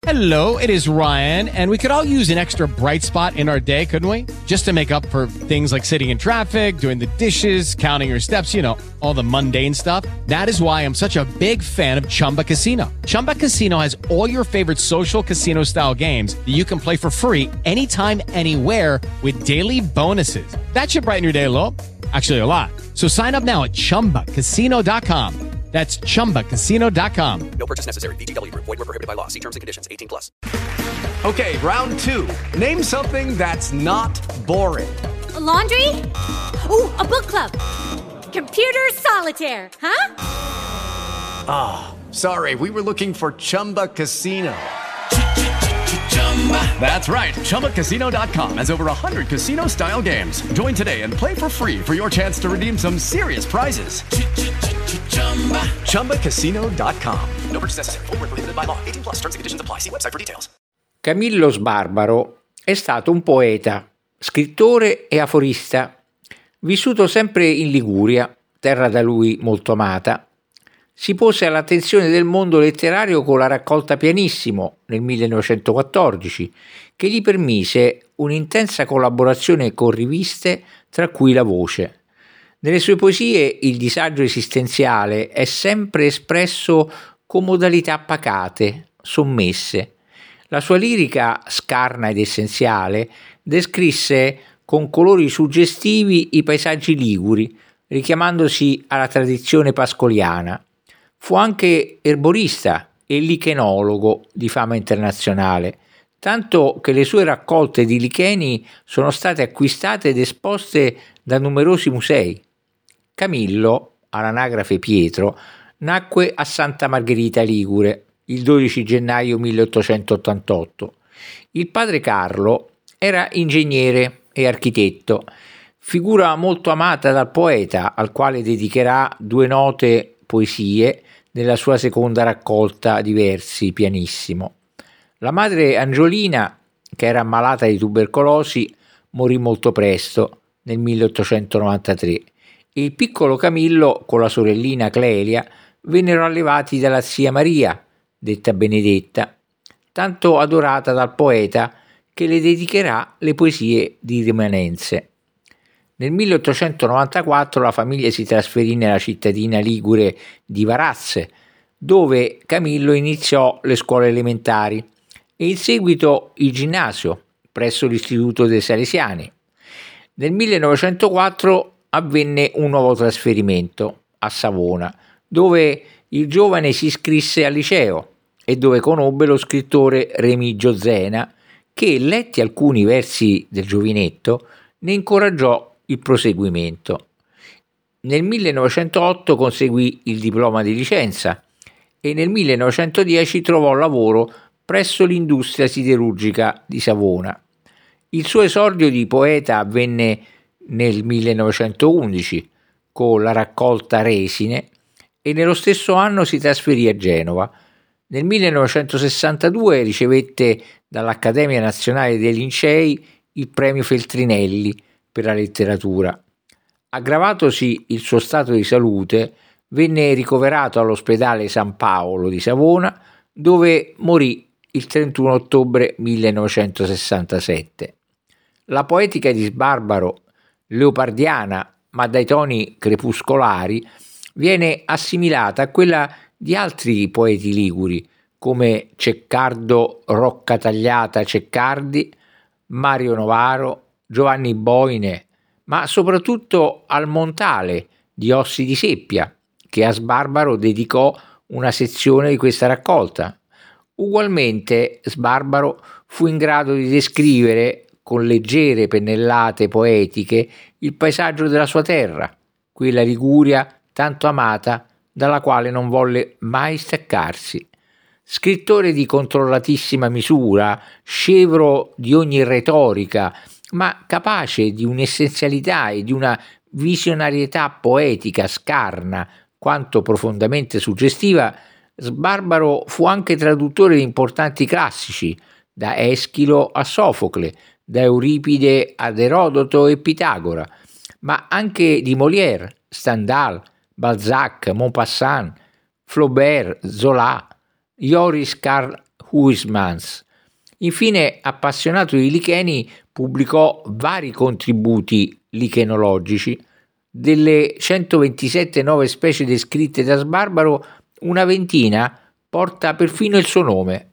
Hello, it is Ryan, and we could all use an extra bright spot in our day, couldn't we? Just to make up for things like sitting in traffic, doing the dishes, counting your steps, you know, all the mundane stuff. That is why I'm such a big fan of Chumba Casino. Chumba Casino has all your favorite social casino-style games that you can play for free anytime, anywhere with daily bonuses. That should brighten your day a little. Actually, a lot. So sign up now at ChumbaCasino.com. That's ChumbaCasino.com. No purchase necessary. VGW Group. Void where prohibited by law. See terms and conditions. 18+. Okay, round two. Name something that's not boring. A laundry? Ooh, a book club. Computer solitaire, huh? Sorry, we were looking for Chumba Casino. That's right. ChumbaCasino.com has over 100 casino-style games. Join today and play for free for your chance to redeem some serious prizes. ChumbaCasino.com. No purchase necessary. Void where prohibited by law. 18+. Terms and conditions apply. See website for details. Camillo Sbarbaro è stato un poeta, scrittore e aforista, vissuto sempre in Liguria, terra da lui molto amata. Si pose all'attenzione del mondo letterario con la raccolta Pianissimo nel 1914, che gli permise un'intensa collaborazione con riviste, tra cui La Voce. Nelle sue poesie il disagio esistenziale è sempre espresso con modalità pacate, sommesse. La sua lirica, scarna ed essenziale, descrisse con colori suggestivi i paesaggi liguri, richiamandosi alla tradizione pascoliana. Fu anche erborista e lichenologo di fama internazionale, tanto che le sue raccolte di licheni sono state acquistate ed esposte da numerosi musei. Camillo, all'anagrafe Pietro, nacque a Santa Margherita Ligure il 12 gennaio 1888. Il padre Carlo era ingegnere e architetto, figura molto amata dal poeta, al quale dedicherà 2 note poesie nella sua seconda raccolta di versi Pianissimo. La madre Angiolina, che era ammalata di tubercolosi, morì molto presto, nel 1893, e il piccolo Camillo con la sorellina Clelia vennero allevati dalla zia Maria, detta Benedetta, tanto adorata dal poeta che le dedicherà le poesie di Rimanenze. Nel 1894 la famiglia si trasferì nella cittadina ligure di Varazze, dove Camillo iniziò le scuole elementari e in seguito il ginnasio presso l'Istituto dei Salesiani. Nel 1904 avvenne un nuovo trasferimento a Savona, dove il giovane si iscrisse al liceo e dove conobbe lo scrittore Remigio Zena, che, letti alcuni versi del giovinetto, ne incoraggiò il proseguimento. Nel 1908 conseguì il diploma di licenza e nel 1910 trovò lavoro presso l'industria siderurgica di Savona. Il suo esordio di poeta avvenne nel 1911 con la raccolta Resine e nello stesso anno si trasferì a Genova. Nel 1962 ricevette dall'Accademia Nazionale dei Lincei il premio Feltrinelli per la letteratura. Aggravatosi il suo stato di salute, venne ricoverato all'ospedale San Paolo di Savona, dove morì il 31 ottobre 1967. La poetica di Sbarbaro, leopardiana ma dai toni crepuscolari, viene assimilata a quella di altri poeti liguri come Ceccardo Roccatagliata Ceccardi, Mario Novaro, Giovanni Boine, ma soprattutto al Montale di Ossi di Seppia, che a Sbarbaro dedicò una sezione di questa raccolta. Ugualmente Sbarbaro fu in grado di descrivere con leggere pennellate poetiche il paesaggio della sua terra, quella Liguria tanto amata dalla quale non volle mai staccarsi. Scrittore di controllatissima misura, scevro di ogni retorica, ma capace di un'essenzialità e di una visionarietà poetica scarna quanto profondamente suggestiva, Sbarbaro fu anche traduttore di importanti classici, da Eschilo a Sofocle, da Euripide ad Erodoto e Pitagora, ma anche di Molière, Stendhal, Balzac, Maupassant, Flaubert, Zola, Joris Karl Huysmans. Infine, appassionato di licheni, pubblicò vari contributi lichenologici. Delle 127 nuove specie descritte da Sbarbaro, una ventina porta perfino il suo nome,